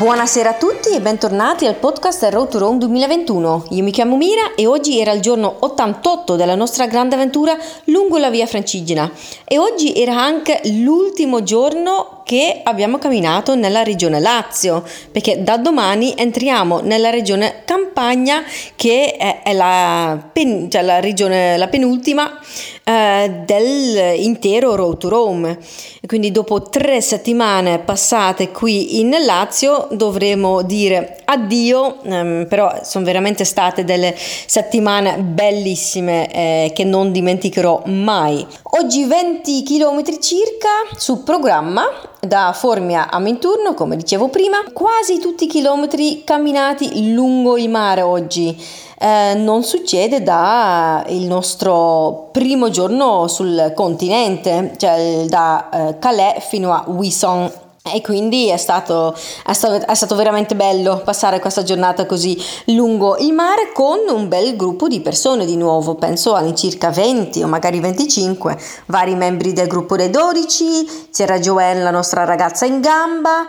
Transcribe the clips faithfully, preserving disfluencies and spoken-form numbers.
Buonasera a tutti e bentornati al podcast Road to Rome duemilaventuno. Io mi chiamo Mira e oggi era il giorno ottantotto della nostra grande avventura lungo la via Francigena e oggi era anche l'ultimo giorno che abbiamo camminato nella regione Lazio, perché da domani entriamo nella regione Campania, che è, è la, pen, cioè la regione, la penultima eh, dell'intero Road to Rome. E quindi dopo tre settimane passate qui in Lazio dovremo dire addio, ehm, però sono veramente state delle settimane bellissime eh, che non dimenticherò mai. Oggi venti chilometri circa su programma da Formia a Minturno, come dicevo prima, quasi tutti i chilometri camminati lungo il mare oggi. Eh, non succede da il nostro primo giorno sul continente, cioè da eh, Calais fino a Wissant. E quindi è stato, è, stato, è stato veramente bello passare questa giornata così lungo il mare con un bel gruppo di persone di nuovo, penso all'incirca venti o magari venticinque, vari membri del gruppo dei dodici, c'era Joanne, la nostra ragazza in gamba,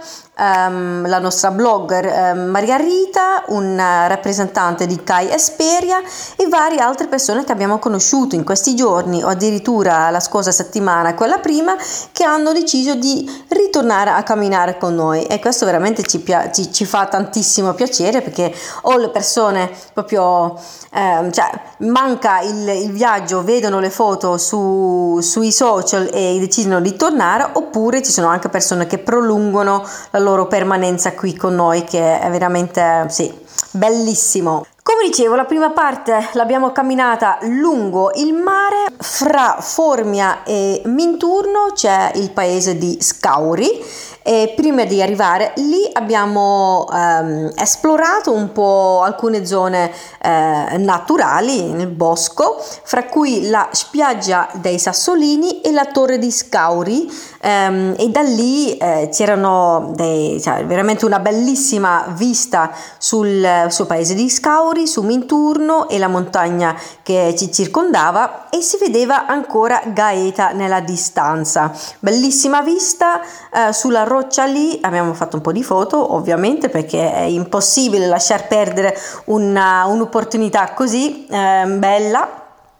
Um, la nostra blogger um, Maria Rita, un uh, rappresentante di Kai Esperia e varie altre persone che abbiamo conosciuto in questi giorni o addirittura la scorsa settimana, quella prima, che hanno deciso di ritornare a camminare con noi, e questo veramente ci, pia- ci, ci fa tantissimo piacere, perché o le persone proprio um, cioè manca il, il viaggio, vedono le foto su, sui social e decidono di tornare, oppure ci sono anche persone che prolungano la loro permanenza qui con noi, che è veramente sì, bellissimo. Come dicevo, la prima parte l'abbiamo camminata lungo il mare. Fra Formia e Minturno c'è il paese di Scauri e prima di arrivare lì abbiamo ehm, esplorato un po' alcune zone eh, naturali nel bosco, fra cui la spiaggia dei Sassolini e la torre di Scauri, ehm, e da lì eh, c'erano dei, cioè, veramente una bellissima vista sul, sul paese di Scauri, su Minturno e la montagna che ci circondava, e si vedeva ancora Gaeta nella distanza. Bellissima vista eh, sulla roccia lì. Abbiamo fatto un po' di foto, ovviamente, perché è impossibile lasciar perdere una, un'opportunità così eh, bella.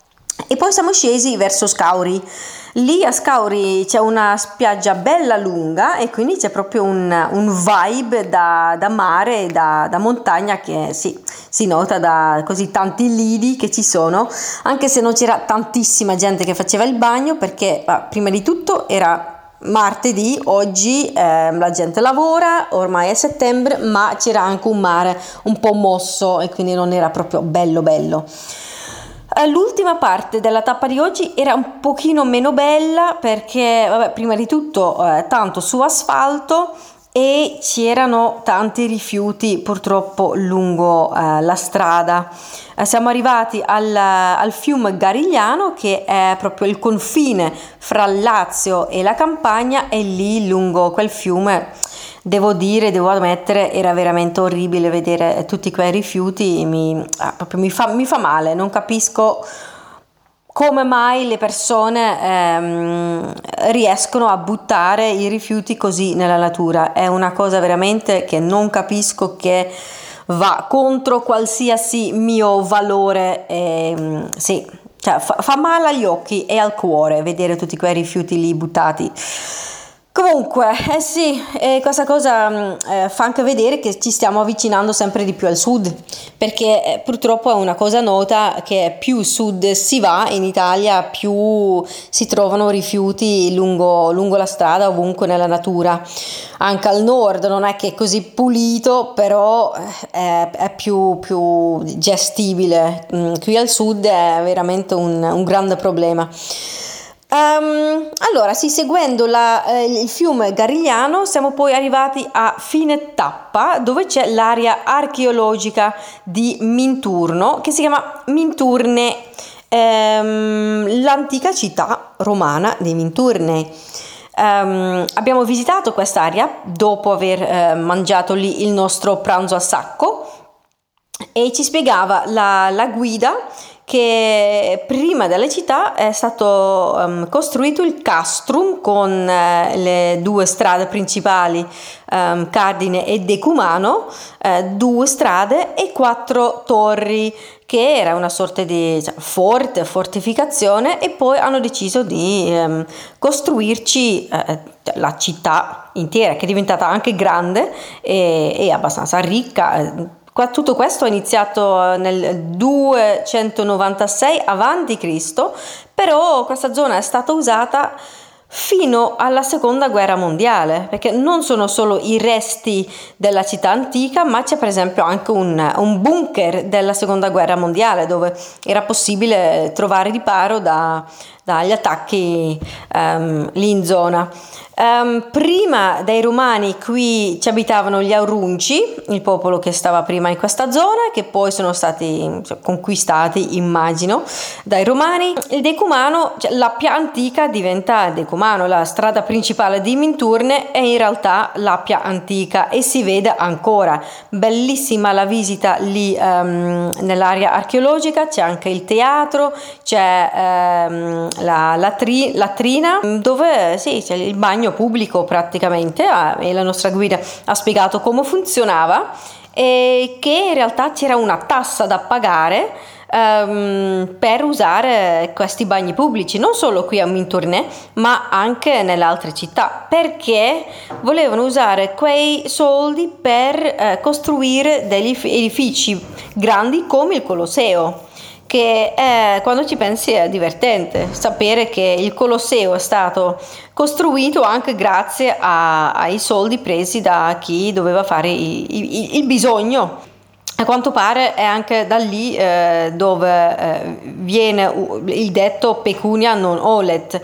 E poi siamo scesi verso Scauri. Lì a Scauri c'è una spiaggia bella lunga e quindi c'è proprio un, un vibe da, da mare, da, da montagna, che sì, si nota da così tanti lidi che ci sono, anche se non c'era tantissima gente che faceva il bagno, perché ah, prima di tutto era martedì, oggi eh, la gente lavora, ormai è settembre, ma c'era anche un mare un po' mosso e quindi non era proprio bello bello. L'ultima parte della tappa di oggi era un pochino meno bella, perché vabbè, prima di tutto eh, tanto su asfalto e c'erano tanti rifiuti purtroppo lungo eh, la strada. Eh, siamo arrivati al, al fiume Garigliano, che è proprio il confine fra il Lazio e la Campania, e lì lungo quel fiume devo dire, devo ammettere, era veramente orribile vedere tutti quei rifiuti. Mi, ah, proprio mi fa, mi fa male, non capisco come mai le persone ehm, riescono a buttare i rifiuti così nella natura. È una cosa veramente che non capisco, che va contro qualsiasi mio valore. Ehm, sì, cioè fa, fa male agli occhi e al cuore vedere tutti quei rifiuti lì buttati. Comunque, eh sì, eh, questa cosa eh, fa anche vedere che ci stiamo avvicinando sempre di più al sud, perché eh, purtroppo è una cosa nota che più sud si va in Italia, più si trovano rifiuti lungo, lungo la strada, ovunque nella natura. Anche al nord non è che è così pulito, però è, è più, più gestibile. Qui al sud è veramente un, un grande problema. Um, allora, sì, seguendo la, eh, il fiume Garigliano siamo poi arrivati a fine tappa, dove c'è l'area archeologica di Minturno, che si chiama Minturne, ehm, l'antica città romana di Minturne. Um, abbiamo visitato quest'area dopo aver eh, mangiato lì il nostro pranzo a sacco, e ci spiegava la, la guida che prima della città è stato um, costruito il castrum con uh, le due strade principali, um, Cardine e Decumano, uh, due strade e quattro torri, che era una sorta di cioè, forte, fortificazione, e poi hanno deciso di um, costruirci uh, la città intera, che è diventata anche grande e, e abbastanza ricca. Tutto questo è iniziato nel duecentonovantasei avanti Cristo, però questa zona è stata usata fino alla seconda guerra mondiale, perché non sono solo i resti della città antica, ma c'è per esempio anche un, un bunker della seconda guerra mondiale dove era possibile trovare riparo da, dagli attacchi um, lì in zona. Um, prima dei Romani qui ci abitavano gli Aurunci, il popolo che stava prima in questa zona, che poi sono stati cioè, conquistati, immagino, dai Romani. Il Decumano, cioè, l'Appia antica diventa Decumano, la strada principale di Minturne è in realtà l'Appia antica e si vede ancora. Bellissima la visita lì um, nell'area archeologica, c'è anche il teatro, c'è um, la latri- latrina dove sì, c'è il bagno pubblico praticamente, e la nostra guida ha spiegato come funzionava e che in realtà c'era una tassa da pagare um, per usare questi bagni pubblici, non solo qui a Minturne ma anche nelle altre città, perché volevano usare quei soldi per eh, costruire degli edifici grandi come il Colosseo, che è, quando ci pensi è divertente sapere che il Colosseo è stato costruito anche grazie a, ai soldi presi da chi doveva fare i, i, il bisogno. A quanto pare è anche da lì eh, dove eh, viene il detto pecunia non olet.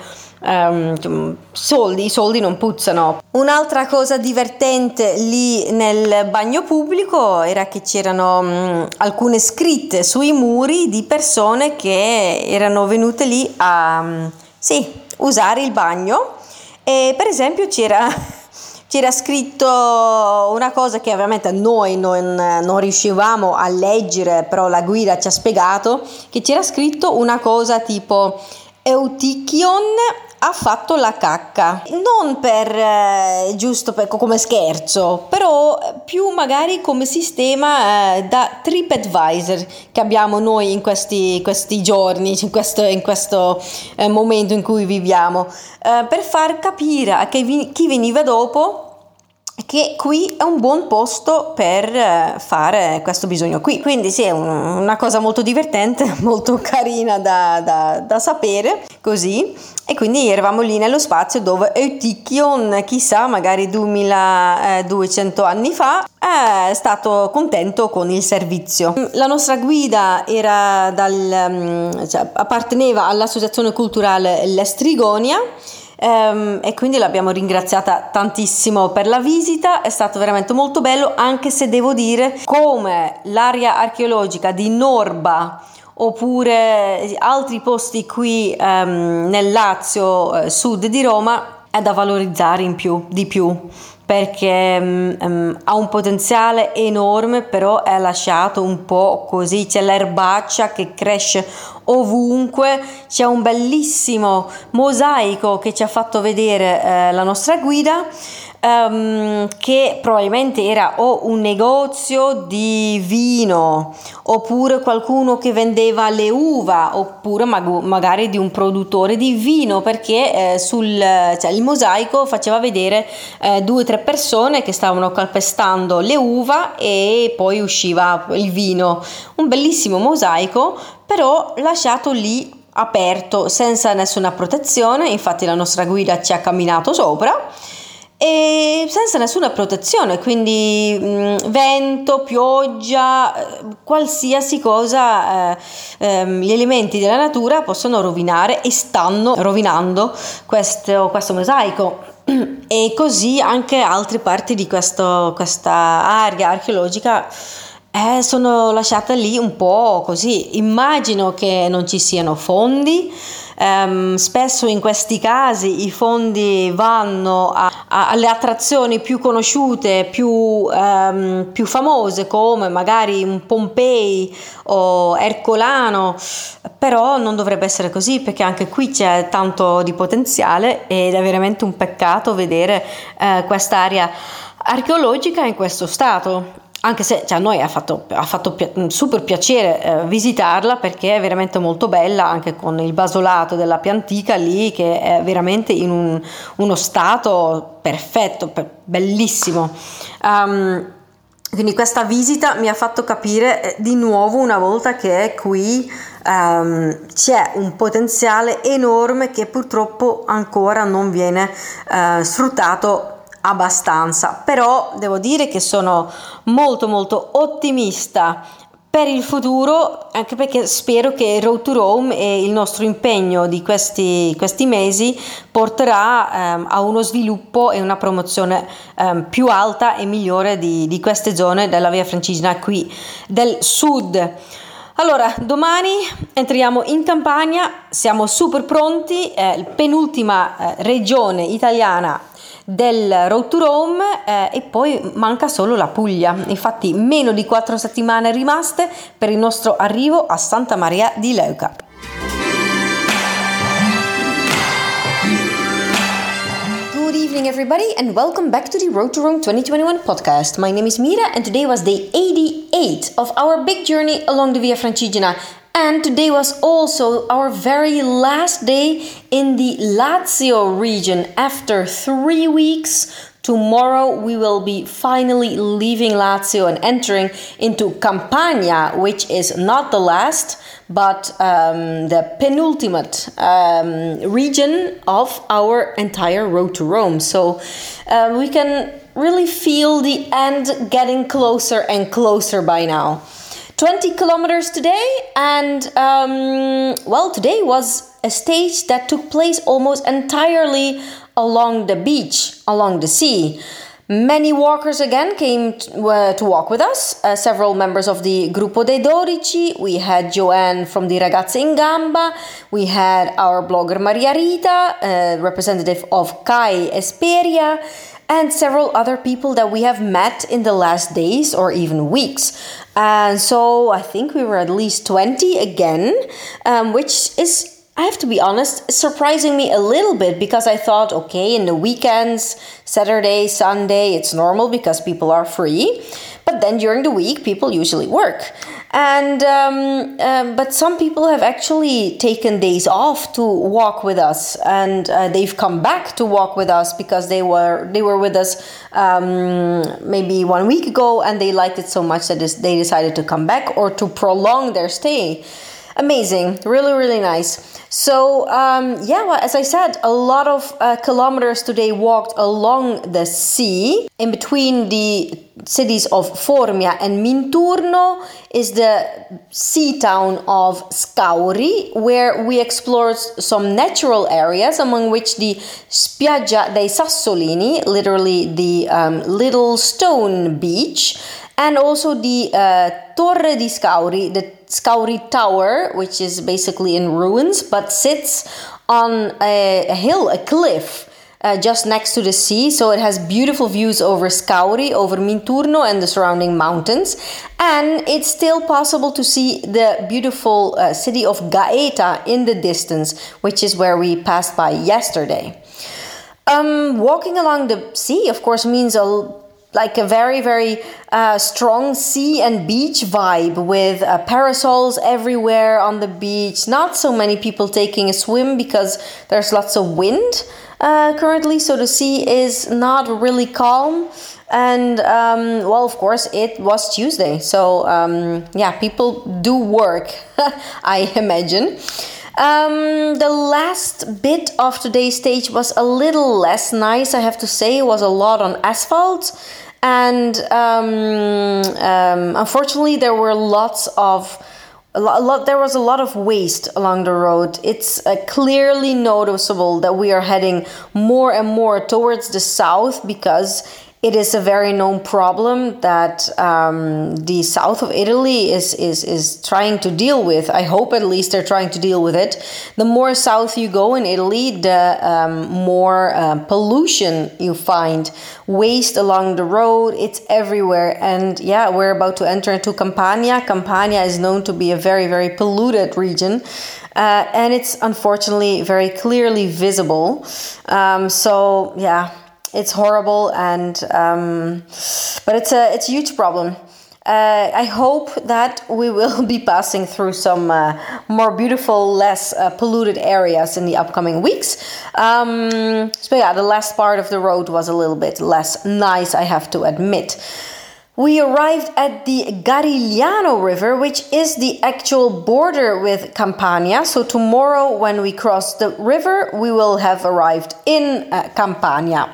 Um, soldi, i soldi non puzzano. Un'altra cosa divertente lì nel bagno pubblico era che c'erano um, alcune scritte sui muri di persone che erano venute lì a um, sì, usare il bagno, e per esempio c'era c'era scritto una cosa che ovviamente noi non, non riuscivamo a leggere, però la guida ci ha spiegato che c'era scritto una cosa tipo Eutichion ha fatto la cacca, non per eh, giusto per, come scherzo, però più magari come sistema eh, da TripAdvisor che abbiamo noi in questi, questi giorni, in questo, in questo eh, momento in cui viviamo, eh, per far capire a chi, chi veniva dopo che qui è un buon posto per fare questo bisogno qui. Quindi sì, è un, una cosa molto divertente, molto carina da, da, da sapere così. E quindi eravamo lì nello spazio dove Eutichion, chissà, magari duemiladuecento anni fa, è stato contento con il servizio. La nostra guida era dal, cioè, apparteneva all'associazione culturale L'Estrigonia, Um, e quindi l'abbiamo ringraziata tantissimo per la visita. È stato veramente molto bello, anche se devo dire come l'area archeologica di Norba oppure altri posti qui um, nel Lazio, eh, sud di Roma, è da valorizzare in più, di più, perché um, ha un potenziale enorme, però è lasciato un po' così. C'è l'erbaccia che cresce ovunque, c'è un bellissimo mosaico che ci ha fatto vedere eh, la nostra guida, um, che probabilmente era o un negozio di vino oppure qualcuno che vendeva le uva, oppure mag- magari di un produttore di vino, perché eh, sul cioè, il mosaico faceva vedere eh, due o tre persone che stavano calpestando le uva e poi usciva il vino. Un bellissimo mosaico, però lasciato lì aperto senza nessuna protezione. Infatti la nostra guida ci ha camminato sopra e senza nessuna protezione, quindi mh, vento, pioggia, qualsiasi cosa, eh, ehm, gli elementi della natura possono rovinare e stanno rovinando questo, questo mosaico. E così anche altre parti di questo, questa area archeologica eh, sono lasciate lì un po' così. Immagino che non ci siano fondi. Um, spesso in questi casi i fondi vanno a, alle attrazioni più conosciute, più, um, più famose, come magari un Pompei o Ercolano, però non dovrebbe essere così, perché anche qui c'è tanto di potenziale ed è veramente un peccato vedere uh, quest'area archeologica in questo stato. Anche se cioè, a noi ha fatto, ha fatto pi- super piacere eh, visitarla, perché è veramente molto bella, anche con il basolato della Piantica lì, che è veramente in un, uno stato perfetto, per, bellissimo. Um, quindi questa visita mi ha fatto capire eh, di nuovo una volta che qui um, c'è un potenziale enorme che purtroppo ancora non viene uh, sfruttato abbastanza. Però devo dire che sono molto molto ottimista per il futuro, anche perché spero che Road to Rome e il nostro impegno di questi, questi mesi porterà ehm, a uno sviluppo e una promozione ehm, più alta e migliore di, di queste zone della Via Francigena qui del sud. Allora, domani entriamo in Campania, siamo super pronti, è la penultima eh, regione italiana del Road to Rome eh, e poi manca solo la Puglia. Infatti meno di quattro settimane rimaste per il nostro arrivo a Santa Maria di Leuca. Good evening everybody and welcome back to the Road to Rome twenty twenty-one podcast. My name is Mira and today was day eighty-eight of our big journey along the Via Francigena. And today was also our very last day in the Lazio region. After three weeks, tomorrow we will be finally leaving Lazio and entering into Campania, which is not the last, but um, the penultimate um, region of our entire Road to Rome. So uh, we can really feel the end getting closer and closer by now. twenty kilometers today, and um, well, today was a stage that took place almost entirely along the beach, along the sea. Many walkers again came to, uh, to walk with us, uh, several members of the Gruppo dei Dodici. We had Joanne from the Ragazze in Gamba, we had our blogger Maria Rita, uh, representative of Kai Esperia, and several other people that we have met in the last days or even weeks. And so I think we were at least twenty again, um, which is, I have to be honest, surprising me a little bit, because I thought, okay, in the weekends, Saturday, Sunday, it's normal because people are free. But then during the week, people usually work. And um, um, but some people have actually taken days off to walk with us, and uh, they've come back to walk with us because they were they were with us um, maybe one week ago, and they liked it so much that they decided to come back or to prolong their stay. Amazing, really, really nice. So, um, yeah, well, as I said, a lot of uh, kilometers today walked along the sea. In between the cities of Formia and Minturno is the sea town of Scauri, where we explored some natural areas, among which the Spiaggia dei Sassolini, literally the um, little stone beach, and also the uh, Torre di Scauri, the Scauri Tower, which is basically in ruins, but sits on a, a hill, a cliff, uh, just next to the sea. So it has beautiful views over Scauri, over Minturno and the surrounding mountains. And it's still possible to see the beautiful uh, city of Gaeta in the distance, which is where we passed by yesterday. Um, walking along the sea, of course, means a like a very, very uh, strong sea and beach vibe with uh, parasols everywhere on the beach. Not so many people taking a swim because there's lots of wind uh, currently, so the sea is not really calm. And um, well, of course, it was Tuesday, so um, yeah, people do work, I imagine. Um, the last bit of today's stage was a little less nice, I have to say. It was a lot on asphalt, and um, um, unfortunately there were lots of a lot, a lot there was a lot of waste along the road. It's uh, clearly noticeable that we are heading more and more towards the south, because It is a very known problem that um, the south of Italy is, is, is trying to deal with. I hope at least they're trying to deal with it. The more south you go in Italy, the um, more uh, pollution you find. Waste along the road, it's everywhere. And yeah, we're about to enter into Campania. Campania is known to be a very, very polluted region. Uh, and it's unfortunately very clearly visible. Um, so yeah. It's horrible, and um, but it's a it's a huge problem. Uh, I hope that we will be passing through some uh, more beautiful, less uh, polluted areas in the upcoming weeks. Um, so yeah, the last part of the road was a little bit less nice, I have to admit. We arrived at the Garigliano River, which is the actual border with Campania. So tomorrow, when we cross the river, we will have arrived in uh, Campania.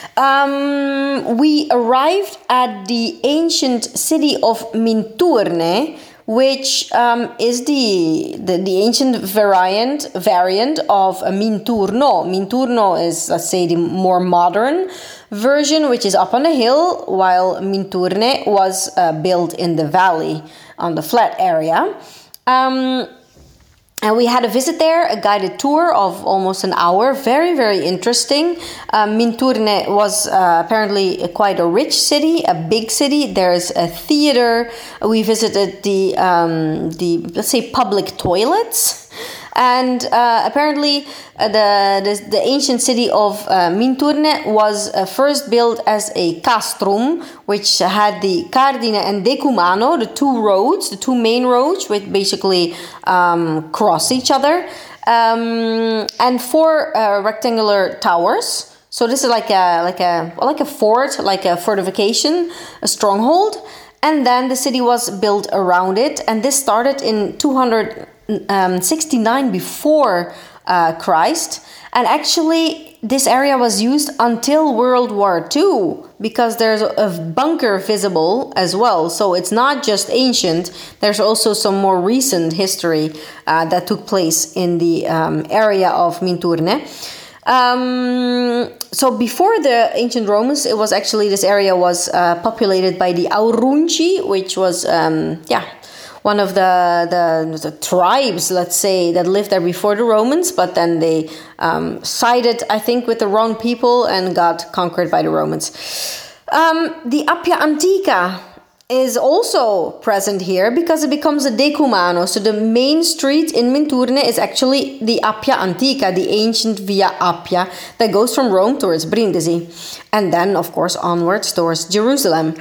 Um, we arrived at the ancient city of Minturne, which um, is the, the the ancient variant variant of uh, Minturno. Minturno is, let's say, the more modern version, which is up on the hill, while Minturne was uh, built in the valley on the flat area. Um, And we had a visit there, a guided tour of almost an hour. Very, very interesting. Uh, Minturne was uh, apparently quite a rich city, a big city. There's a theater. We visited the, um, the let's say, public toilets. And uh, apparently uh, the, the the ancient city of uh, Minturne was uh, first built as a castrum, which had the Cardine and Decumano, the two roads, the two main roads, which basically um, cross each other, um, and four uh, rectangular towers. So this is like a like a like a fort, like a fortification, a stronghold. And then the city was built around it, and this started in two hundred sixty-nine before uh, Christ. And actually, this area was used until World War Two, because there's a bunker visible as well. So it's not just ancient, there's also some more recent history uh, that took place in the um, area of Minturne. Um, so before the ancient Romans, it was actually, this area was uh, populated by the Aurunci, which was, um, yeah, one of the, the the tribes, let's say, that lived there before the Romans, but then they um, sided, I think, with the wrong people and got conquered by the Romans. Um, the Appia Antica is also present here because it becomes a decumano. So the main street in Minturne is actually the Appia Antica, the ancient Via Appia that goes from Rome towards Brindisi, and then, of course, onwards towards Jerusalem.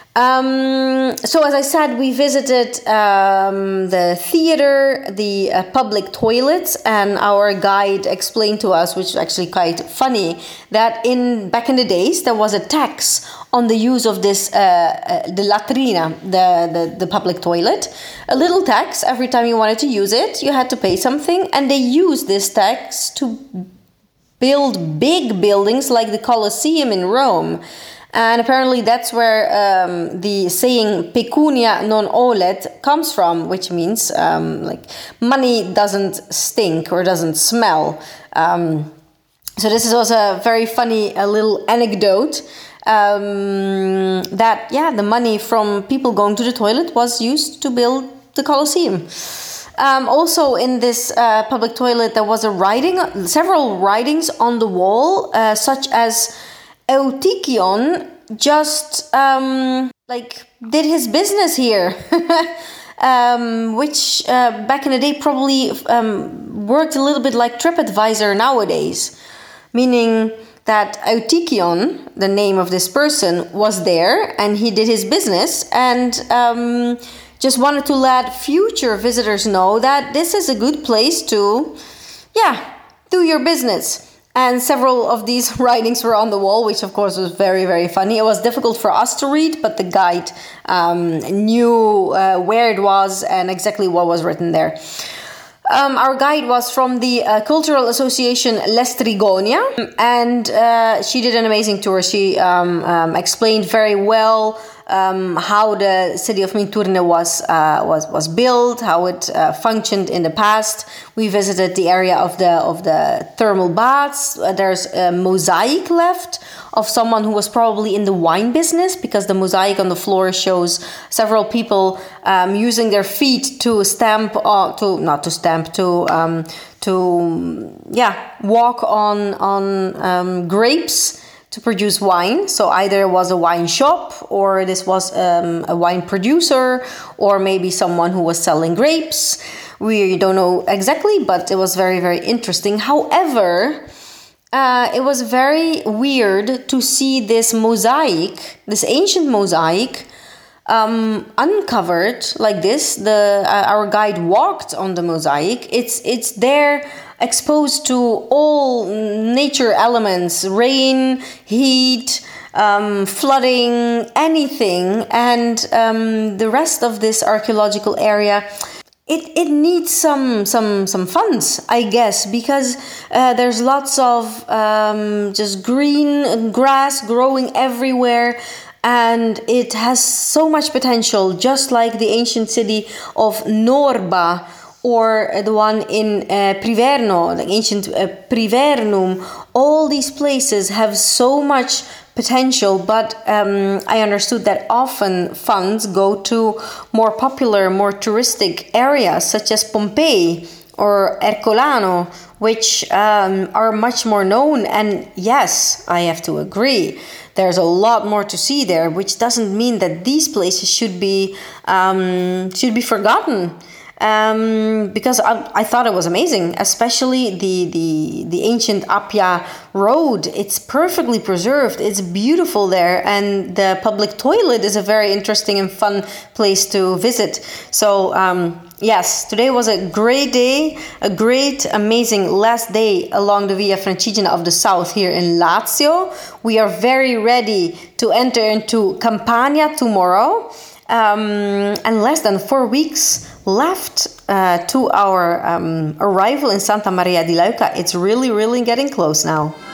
Um, so as I said, we visited um, the theater, the uh, public toilets, and our guide explained to us, which is actually quite funny, that in back in the days there was a tax on the use of this, uh, uh, the latrina, the, the, the public toilet. A little tax every time you wanted to use it, you had to pay something, and they used this tax to build big buildings like the Colosseum in Rome. And apparently that's where um, the saying pecunia non olet comes from, which means um, like money doesn't stink or doesn't smell. Um, so this is also a very funny a little anecdote um, that, yeah, the money from people going to the toilet was used to build the Colosseum. Um, also in this uh, public toilet there was a writing, several writings on the wall, uh, such as Eutychion just um, like did his business here, um, which uh, back in the day probably um, worked a little bit like TripAdvisor nowadays, meaning that Eutychion, the name of this person, was there and he did his business and um, just wanted to let future visitors know that this is a good place to, yeah, do your business. And several of these writings were on the wall, which of course was very, very funny. It was difficult for us to read, but the guide um, knew uh, where it was and exactly what was written there. Um, our guide was from the uh, Cultural Association Lestrigonia, and uh, she did an amazing tour. She um, um, explained very well um, how the city of Minturne was uh, was was built, how it uh, functioned in the past. We visited the area of the of the thermal baths. Uh, there's a mosaic left of someone who was probably in the wine business, because the mosaic on the floor shows several people um, using their feet to stamp, uh, to not to stamp, to um, to yeah walk on on um, grapes to produce wine. So either it was a wine shop, or this was um, a wine producer, or maybe someone who was selling grapes. We don't know exactly, but it was very, very interesting. However, uh, it was very weird to see this mosaic, this ancient mosaic, um, uncovered like this. The uh, our guide walked on the mosaic. It's it's there, exposed to all nature elements, rain, heat, um, flooding, anything. And um, the rest of this archaeological area, it, it needs some some some funds, I guess, because uh, there's lots of um, just green grass growing everywhere. And it has so much potential, just like the ancient city of Norba, or the one in uh, Priverno, the ancient uh, Privernum. All these places have so much potential, but um, I understood that often funds go to more popular, more touristic areas, such as Pompeii or Ercolano, which um, are much more known. And yes, I have to agree, there's a lot more to see there, which doesn't mean that these places should be um, should be forgotten. Um, because I, I thought it was amazing, especially the, the the ancient Appia road. It's perfectly preserved. It's beautiful there, and the public toilet is a very interesting and fun place to visit. So um, yes, today was a great day, a great, amazing last day along the Via Francigena of the South here in Lazio. We are very ready to enter into Campania tomorrow. Um, and less than four weeks left uh, to our um, arrival in Santa Maria di Leuca. It's really, really getting close now.